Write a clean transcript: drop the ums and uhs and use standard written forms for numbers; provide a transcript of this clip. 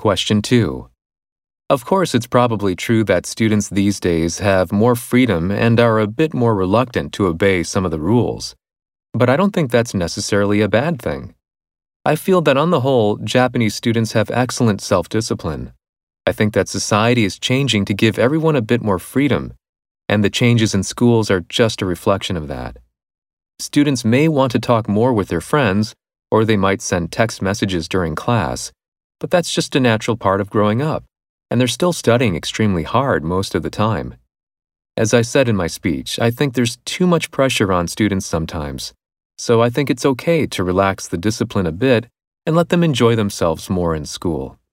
Question 2. Of course, it's probably true that students these days have more freedom and are a bit more reluctant to obey some of the rules. But I don't think that's necessarily a bad thing. I feel that on the whole, Japanese students have excellent self-discipline. I think that society is changing to give everyone a bit more freedom, and the changes in schools are just a reflection of that. Students may want to talk more with their friends, or they might send text messages during class, but that's just a natural part of growing up, and they're still studying extremely hard most of the time. As I said in my speech, I think there's too much pressure on students sometimes, so I think it's okay to relax the discipline a bit and let them enjoy themselves more in school.